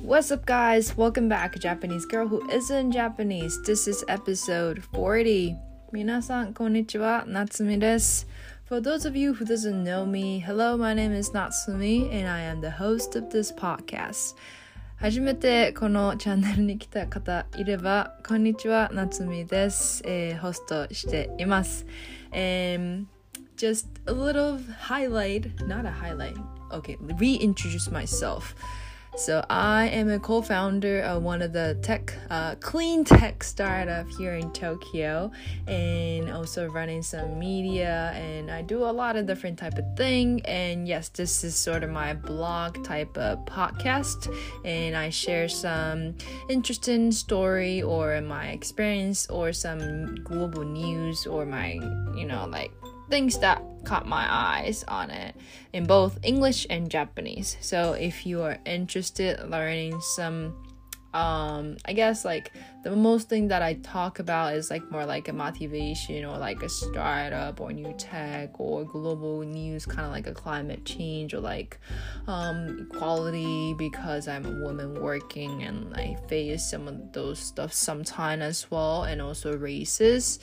What's up, guys? Welcome back, Japanese girl who isn't Japanese. This is episode 40. 皆さん、こんにちは。Natsumi です。For those of you who doesn't know me, hello, my name is Natsumi, and I am the host of this podcast. 初めてこのチャンネルに来た方いれば、こんにちは、Natsumi です。ホストしています。Just a little highlight, not a highlight. Okay, reintroduce myself.So I am a co-founder of one of the clean tech startup here in Tokyo, and also running some media, and I do a lot of different type of thing. And yes, this is sort of my blog type of podcast, and I share some interesting story or my experience or some global news or my, things that caught my eyes on it in both English and Japanese. So if you are interested in learning some I guess like the most thing that I talk about is like more like a motivation or like a startup or new tech or global news, kind of like a climate change or like equality, because I'm a woman working and I face some of those stuff sometimes as well, and also races,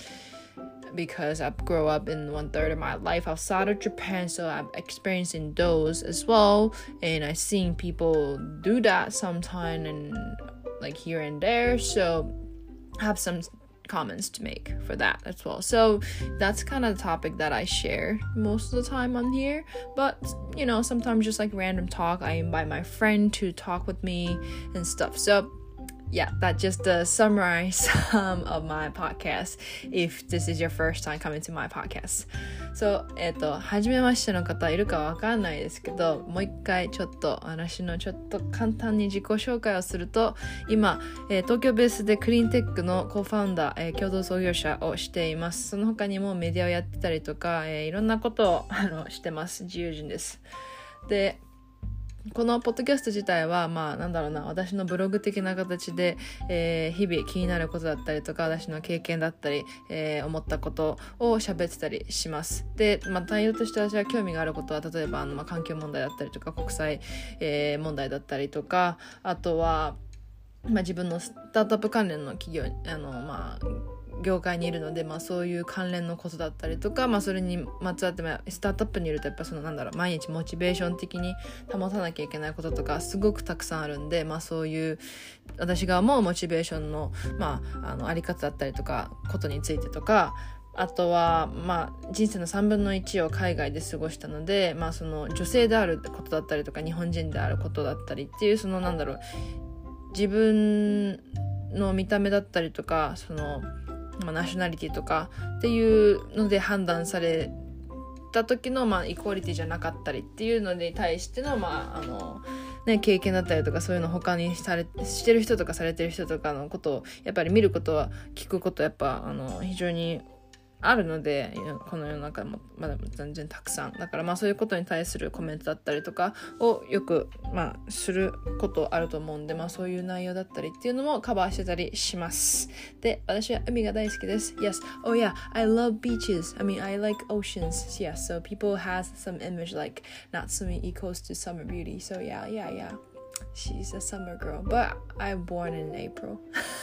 because I grew up in 1/3 of my life outside of Japan, so I'm experiencing those as well, and I've seen people do that sometime and like here and there, so I have some comments to make for that as well. So that's kind of the topic that I share most of the time on here, but sometimes just like random talk, I invite my friend to talk with me and stuff. So yeah, that just summarize of my podcast if this is your first time coming to my podcast. So, 初めましての方いるかわかんないですけど、もう一回私の簡単に自己紹介をすると、今、東京ベースでクリーンテックのコーファウンダー、共同創業者をしています。その他にもメディアをやってたりとか、いろんなことをしてます。自由人です。で、このポッドキャスト自体は私のブログ的な形で、日々気になることだったりとか、私の経験だったり、思ったことを喋ってたりします。で、内容として私が興味があることは、例えば環境問題だったりとか、国際、問題だったりとか、あとは、自分のスタートアップ関連の企業業界にいるので、そういう関連のことだったりとか、それにまつわって、スタートアップにいるとやっぱ毎日モチベーション的に保たなきゃいけないこととかすごくたくさんあるんで、そういう私が思うモチベーションの、あり方だったりとかことについてとか、あとは、人生の3分の1を海外で過ごしたので、その女性であることだったりとか日本人であることだったりっていう自分の見た目だったりとかナショナリティとかっていうので判断された時のイコーリティじゃなかったりっていうのに対しての経験だったりとか、そういうの他にしてる人とかされてる人とかのことをやっぱり見ることは聞くことはやっぱ非常にあるので、この世の中もまだ全然たくさんだから、そういうことに対するコメントだったりとかをよくすることあると思うんで、そういう内容だったりっていうのもカバーしてたりします。で、私は海が大好きです。 Yes, oh yeah, I love beaches. I like oceans. Yeah, so people has some image like Natsumi equals to summer beauty. So yeah, she's a summer girl, but I'm born in April.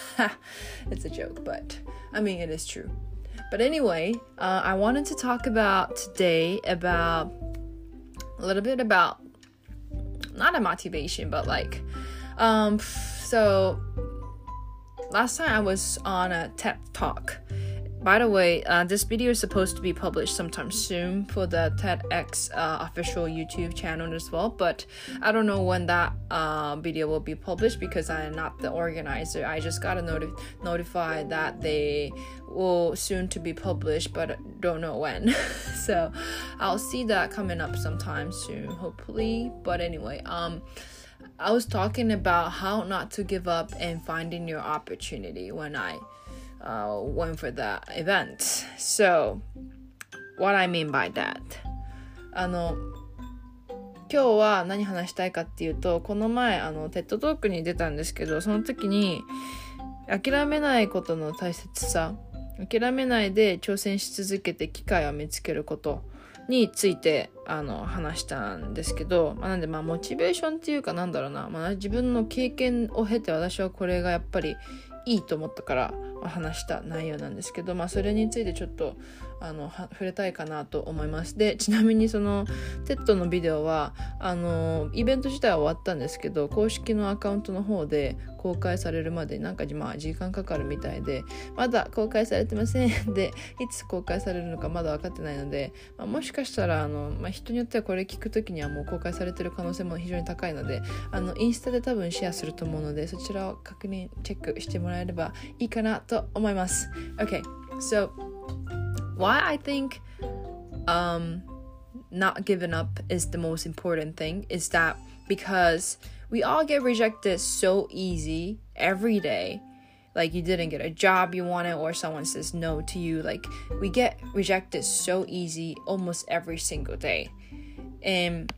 It's a joke, but it is true.But anyway, I wanted to talk about today a little bit about not a motivation, but so last time I was on a TED Talk. By the way, this video is supposed to be published sometime soon for the TEDx official YouTube channel as well, but I don't know when that video will be published because I am not the organizer. I just got notified that they will soon to be published, but don't know when. So I'll see that coming up sometime soon, hopefully. But anyway, I was talking about how not to give up and finding your opportunity when I went for the event. So what I mean by that, 今日は何話したいかっていうと、この前テッドトークに出たんですけど、その時に諦めないことの大切さ、諦めないで挑戦し続けて機会を見つけることについて話したんですけど、なんでモチベーションっていうか自分の経験を経て私はこれがやっぱりいいと思ったから話した内容なんですけど、それについてちょっと触れたいかなと思います。で、ちなみにそのテッドのビデオはイベント自体は終わったんですけど、公式のアカウントの方で公開されるまで時間かかるみたいで、まだ公開されてませんで、いつ公開されるのかまだ分かってないので、もしかしたら人によってはこれ聞くときにはもう公開されてる可能性も非常に高いので、インスタで多分シェアすると思うので、そちらをチェックしてもらえればいいかなと思います。 Okay, so why I think not giving up is the most important thing is that because we all get rejected so easy every day. Like you didn't get a job you wanted or someone says no to you. Like we get rejected so easy almost every single day. And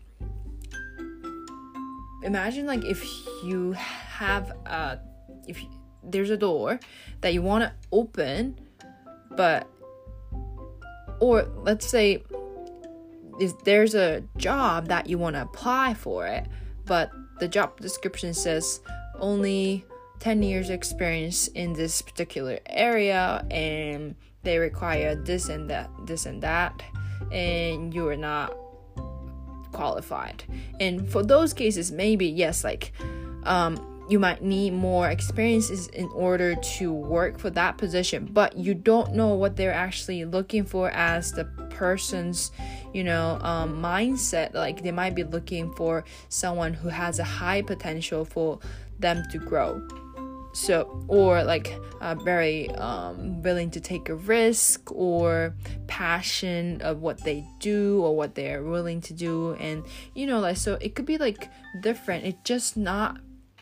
imagine like if you have if there's a door that you want to open, or let's say if there's a job that you want to apply for it, but the job description says only 10 years experience in this particular area and they require this and that, and you are not qualified. And for those cases, maybe yes, like you might need more experiences in order to work for that position, but you don't know what they're actually looking for as the person's mindset. Like they might be looking for someone who has a high potential for them to grow, so or like very willing to take a risk or passion of what they do or what they're willing to do. And like, so it could be like different. It's just not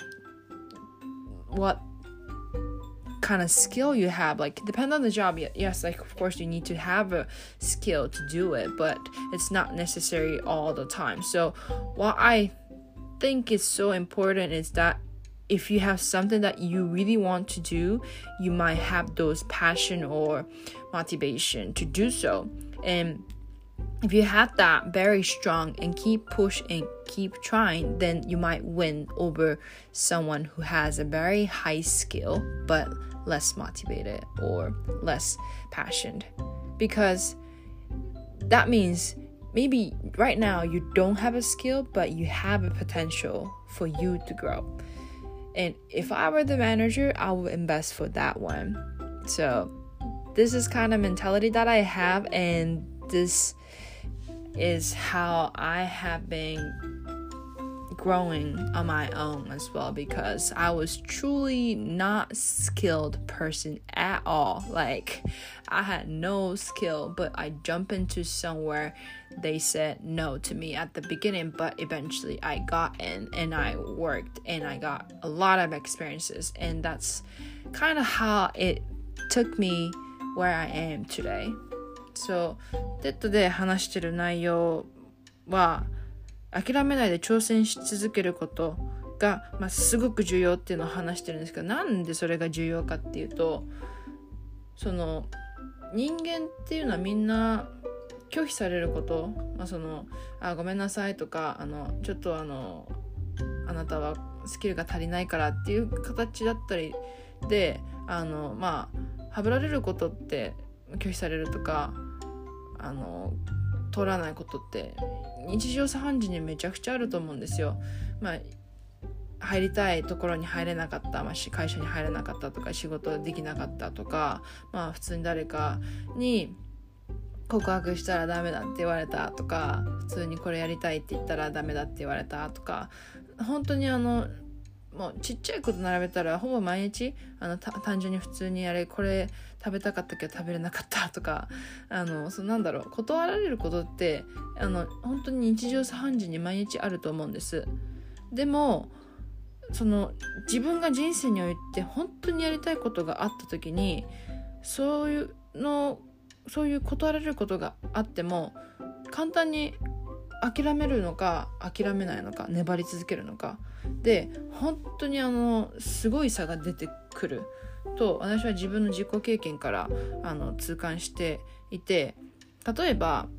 what kind of skill you have. Like depend on the job, yes, like of course you need to have a skill to do it, but it's not necessary all the time. So what I think is so important is that if you have something that you really want to do, you might have those passion or motivation to do so. And if you have that very strong and keep push and keep trying, then you might win over someone who has a very high skill but less motivated or less passionate. Because that means maybe right now you don't have a skill, but you have a potential for you to grow. And if I were the manager, I would invest for that one. So this is kind of mentality that I have, and this is how I have been growing on my own as well, because I was truly not skilled person at all. Like I had no skill, but I jumped into somewhere they said no to me at the beginning, but eventually I got in and I worked and I got a lot of experiences, and that's kind of how it took me where I am today. So テッドで話してる内容は諦めないで挑戦し続けることが、すごく重要っていうのを話してるんですけど、なんでそれが重要かっていうと、その人間っていうのはみんな拒否されること、ごめんなさいとかちょっとあなたはスキルが足りないからっていう形だったりではぶられることって拒否されるとか通らないことって日常茶飯事にめちゃくちゃあると思うんですよ。入りたいところに入れなかった、会社に入れなかったとか仕事できなかったとか、普通に誰かに告白したらダメだって言われたとか、普通にこれやりたいって言ったらダメだって言われたとか、本当にもうちっちゃいこと並べたらほぼ毎日単純に普通にこれ食べたかったけど食べれなかったとか断られることって本当に日常茶飯事に毎日あると思うんです。でも自分が人生において本当にやりたいことがあった時にそういう断られることがあっても簡単に諦めるのか諦めないのか粘り続けるのかで本当にすごい差が出てくると私は自分の自己経験から痛感していて、例えば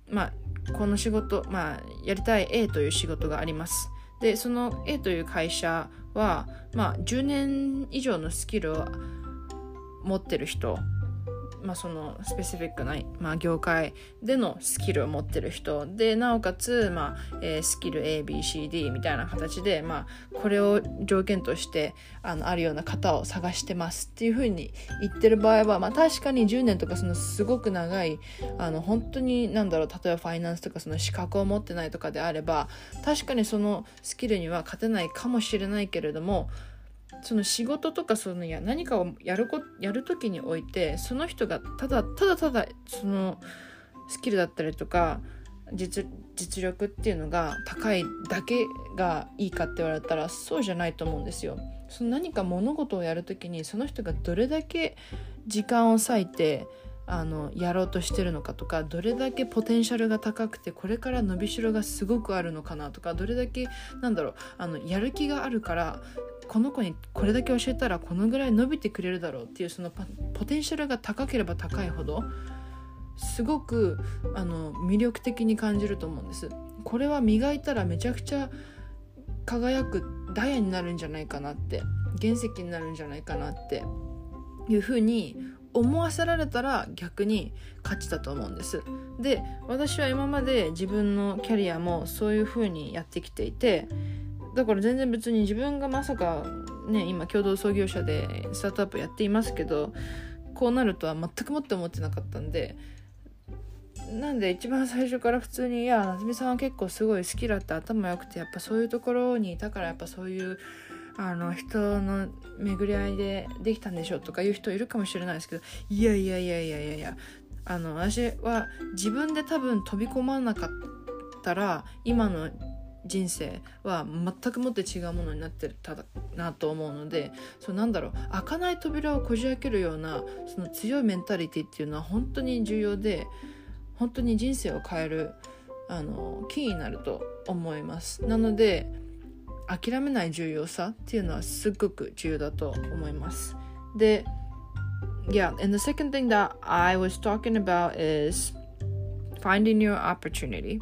この仕事、やりたい A という仕事があります。でその A という会社は、10年以上のスキルを持ってる人、そのスペシフィックな、業界でのスキルを持ってる人で、なおかつ、スキル ABCD みたいな形で、これを条件としてあるような方を探してますっていう風に言ってる場合は、確かに10年とかそのすごく長い本当に例えばファイナンスとかその資格を持ってないとかであれば、確かにそのスキルには勝てないかもしれないけれども、その仕事とか何かをやるときにおいて、その人がただそのスキルだったりとか実力っていうのが高いだけがいいかって言われたらそうじゃないと思うんですよ。その何か物事をやるときにその人がどれだけ時間を割いてやろうとしてるのかとか、どれだけポテンシャルが高くてこれから伸びしろがすごくあるのかなとか、どれだけやる気があるからこの子にこれだけ教えたらこのぐらい伸びてくれるだろうっていう、そのポテンシャルが高ければ高いほどすごく魅力的に感じると思うんです。これは磨いたらめちゃくちゃ輝くダイヤになるんじゃないかなって、原石になるんじゃないかなっていう風に思わせられたら逆に勝ちだと思うんです。で、私は今まで自分のキャリアもそういう風にやってきていて、だから全然別に自分がまさかね、今共同創業者でスタートアップやっていますけど、こうなるとは全くもって思ってなかったんで、なんで一番最初から普通に、いや夏美さんは結構すごい好きだって頭良くて、やっぱそういうところにいたからやっぱそういう人の巡り合いでできたんでしょとかいう人いるかもしれないですけど、いや私は自分で多分飛び込まなかったら今の人生は全くもって違うものになってたなと思うので、開かない扉をこじ開けるようなその強いメンタリティっていうのは本当に重要で、本当に人生を変えるキーになると思います。なので諦めない重要さっていうのはすっごく重要だと思います。で、and the second thing that I was talking about is finding your opportunity.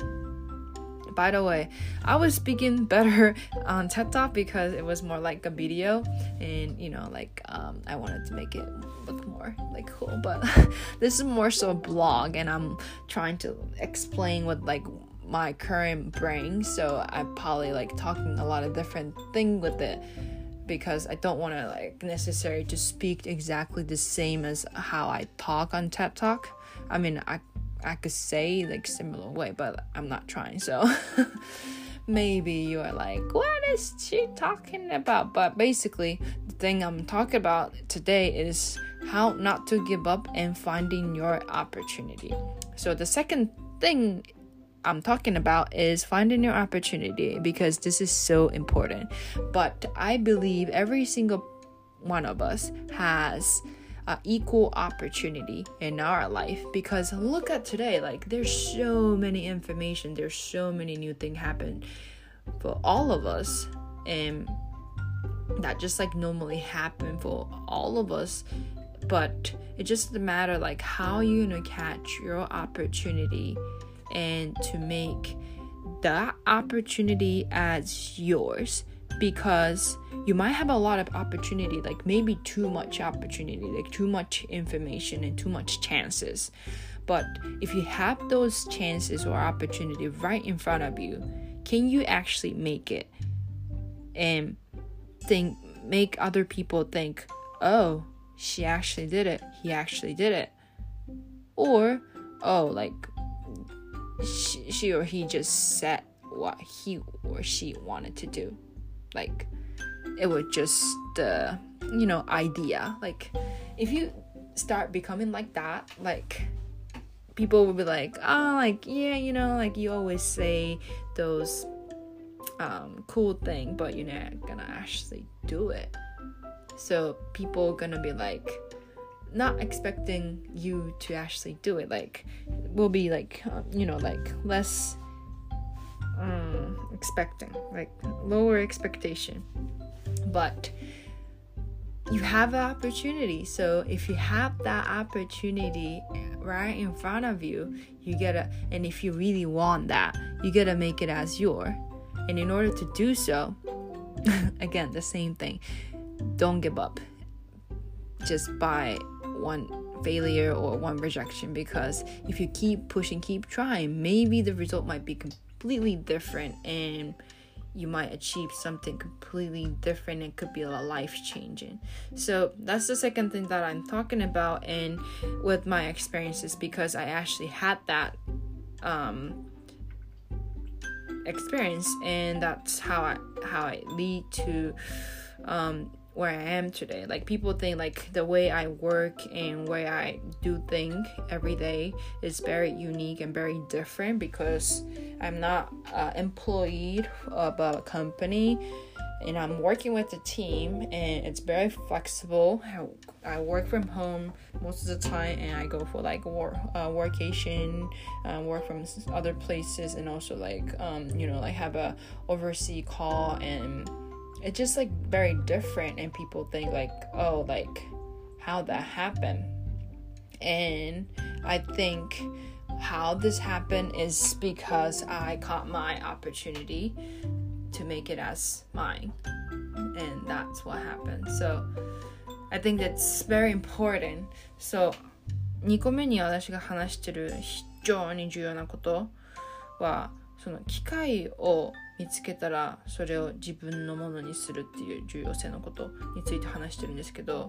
By the way, I was speaking better on TED Talk because it was more like a video, and I wanted to make it look more like cool, but this is more so a blog, and I'm trying to explain what my current brain, so I'm probably talking a lot of different things with it because I don't want to necessarily to speak exactly the same as how I talk on TED Talk. I mean, I could say similar way, but I'm not trying, so maybe you are what is she talking about? But basically the thing I'm talking about today is how not to give up and finding your opportunity. So the second thing I'm talking about is finding your opportunity, because this is so important. But I believe every single one of us has equal opportunity in our life, because look at today, there's so many information, there's so many new things happen for all of us, and that just normally happen for all of us, but it just matter how you gonna catch your opportunity and to make that opportunity as yours, because you might have a lot of opportunity, maybe too much opportunity, too much information and too much chances. But if you have those chances or opportunity right in front of you, can you actually make it and make other people think, oh, she actually did it, he actually did it, or she or he just said what he or she wanted to do. It was just the idea. If you start becoming like that, people will be you always say those cool thing, but you're not gonna actually do it. So people are gonna be not expecting you to actually do it. Will be less expecting, lower expectation. But you have an opportunity. So if you have that opportunity right in front of you, you gotta, and if you really want that, you gotta make it as your. And in order to do so, again, the same thing. Don't give up just by one failure or one rejection, because if you keep pushing, keep trying, maybe the result might be completely different and you might achieve something completely different. It could be a life-changing. So that's the second thing that I'm talking about, and with my experiences, because I actually had that experience, and that's how I lead to where I am today. Like, people think like the way I work and way I do things every day is very unique and very different, because I'm not employed of a company, and I'm working with a team, and it's very flexible. I work from home most of the time, and I go for like workation, work from other places, and also like like have a overseas call, and it's just like very different. And people think like, oh, like how that happened. And I think how this happened is because I caught my opportunity to make it as mine, and that's what happened. So I think that's very important. So 2個目に私が話してる非常に重要なことは、その機会を見つけたらそれを自分のものにするっていう重要性のことについて話してるんですけど、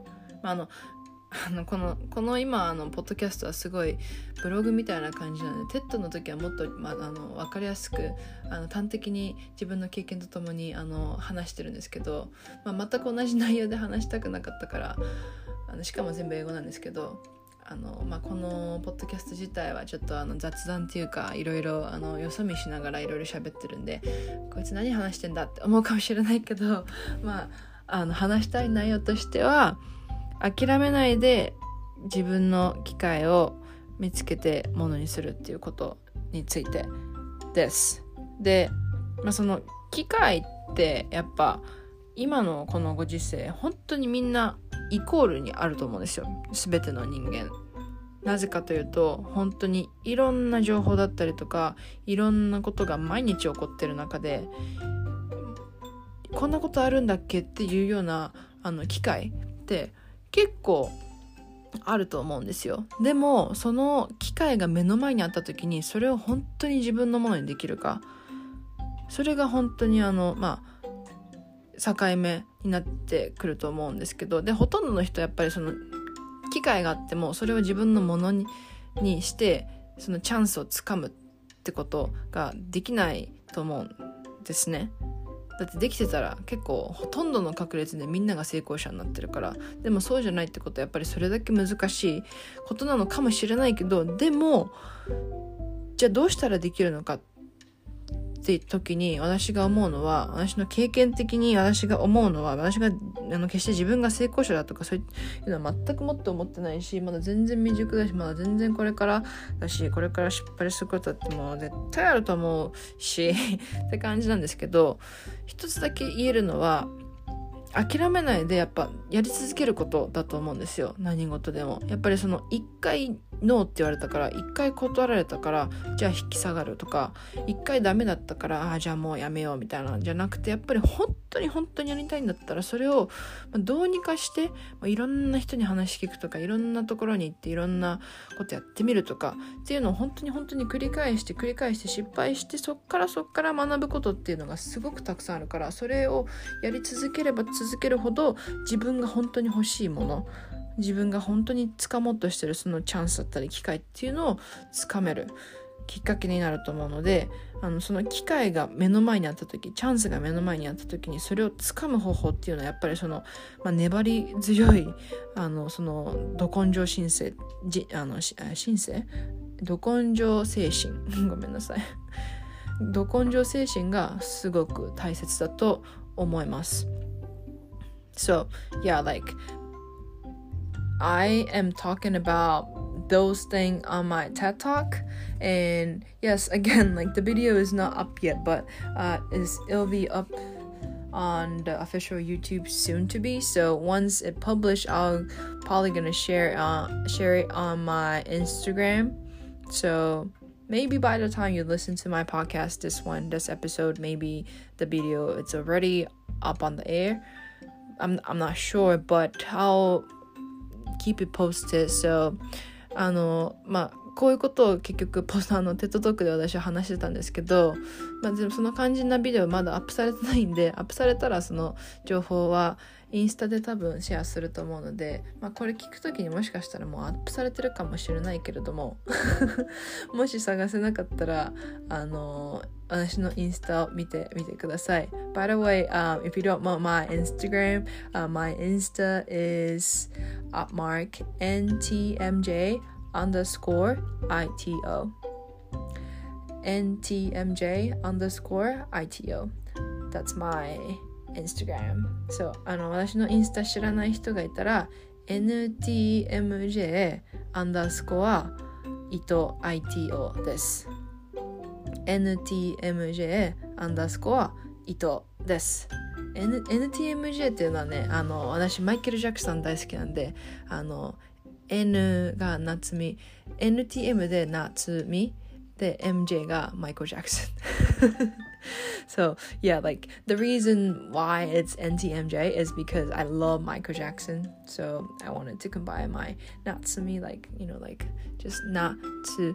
この今ポッドキャストはすごいブログみたいな感じなので、テッドの時はもっと、分かりやすく端的に自分の経験とともに話してるんですけど、全く同じ内容で話したくなかったから、しかも全部英語なんですけど、このポッドキャスト自体はちょっと雑談っていうか、いろいろよそ見しながらいろいろ喋ってるんで、こいつ何話してんだって思うかもしれないけど、話したい内容としては、諦めないで自分の機会を見つけてものにするっていうことについてです。で、その機会ってやっぱ今のこのご時世、本当にみんなイコールにあると思うんですよ、全ての人間。なぜかというと、本当にいろんな情報だったりとか、いろんなことが毎日起こってる中で、こんなことあるんだっけっていうような機会って結構あると思うんですよ。でもその機会が目の前にあった時に、それを本当に自分のものにできるか、それが本当に境目になってくると思うんですけど、でほとんどの人やっぱりその機会があってもそれを自分のものにしてそのチャンスをつかむってことができないと思うんですね。だってできてたら結構ほとんどの確率でみんなが成功者になってるから。でもそうじゃないってことはやっぱりそれだけ難しいことなのかもしれないけど、でもじゃあどうしたらできるのかって時に私が思うのは、私の経験的に私が思うのは、私が決して自分が成功者だとかそういうのは全くもって思ってないし、まだ全然未熟だし、まだ全然これからだし、これから失敗することだってもう絶対あると思うしって感じなんですけど、一つだけ言えるのは、諦めないでやっぱやり続けることだと思うんですよ。何事でもやっぱりその一回ノーって言われたから、一回断られたからじゃあ引き下がるとか、一回ダメだったからじゃあもうやめようみたいなじゃなくて、やっぱり本当にやりたいんだったらそれをどうにかして、いろんな人に話聞くとか、いろんなところに行っていろんなことやってみるとかっていうのを本当に繰り返して失敗して、そっから学ぶことっていうのがすごくたくさんあるから、それをやり続ければ続けるほど自分が本当に欲しいもの、自分が本当に掴もうとしてるそのチャンスだったり機会っていうのを掴めるきっかけになると思うので、その機会が目の前にあった時、チャンスが目の前にあった時にそれを掴む方法っていうのはやっぱりその、粘り強いそのど根性精神ごめんなさいど根性精神がすごく大切だと思います。So yeah, like I am talking about those things on my TED Talk, and yes, again, like the video is not up yet, but it'll be up on the official YouTube soon to be. So once it published, I'll probably gonna share it on my Instagram. So maybe by the time you listen to my podcast, this episode, maybe the video it's already up on the air. I'm not sure, but I'll keep it posted. So こういうことを結局テッドトークで私は話してたんですけど、でもその肝心なビデオまだアップされてないんで、アップされたらその情報はインスタで多分シェアすると思うので、これ聞くときにもしかしたらもうアップされてるかもしれないけれどももし探せなかったら私のインスタを見てみてください。By the way, if you don't know my Instagram, my Insta is @NTMJ_ITO NTMJ_ITO That's my Instagram. So 私のインスタ知らない人がいたら NTMJ_ITO です。NTMJ_ITO です。NTMJ っていうのはね、私マイケル・ジャクソン大好きなんで、N が夏美、NTM で夏美で MJ がマイケル・ジャクソンSo yeah, like the reason why it's NTMJ is because I love Michael Jackson. So I wanted to combine my Natsumi, like, you know, like just not to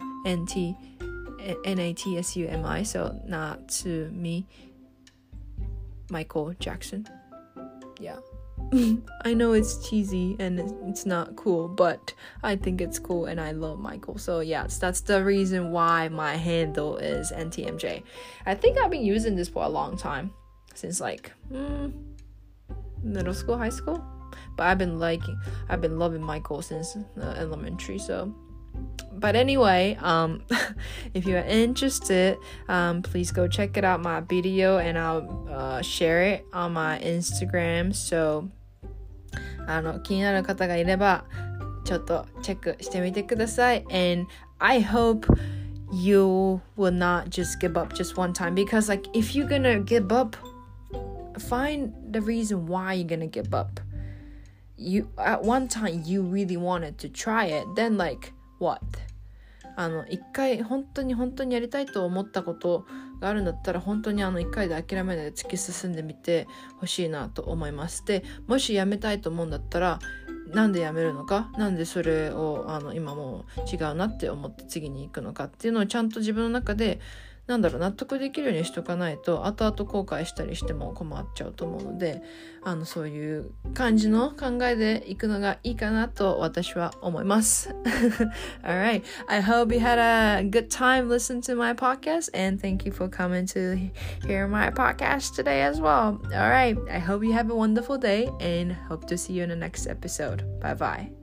NATSUMI. So not to me, Michael Jackson. Yeah. I know it's cheesy and it's not cool, but I think it's cool and I love Michael. So yes, that's the reason why my handle is NTMJ. I think I've been using this for a long time, since like middle school, high school. But I've been loving Michael since elementary. So, but anyway, if you're interested, please go check it out, my video, and I'll share it on my Instagram. So気になる方がいればちょっとチェックしてみてください。And I hope you will not just give up just one time, because like if you're gonna give up, find the reason why you're gonna give up. You at one time you really wanted to try it, then like what? 一回本当にやりたいと思ったことがあるんだったら、本当に一回で諦めないで突き進んでみてほしいなと思います。で、もしやめたいと思うんだったら、なんでやめるのか、なんでそれを今もう違うなって思って次に行くのかっていうのをちゃんと自分の中で納得できるようにしとかないと、後々後悔したりしても困っちゃうと思うので、そういう感じの考えでいくのがいいかなと私は思います。Alright, I hope you had a good time listening to my podcast, and thank you for coming to hear my podcast today as well. Alright, I hope you have a wonderful day and hope to see you in the next episode. Bye bye.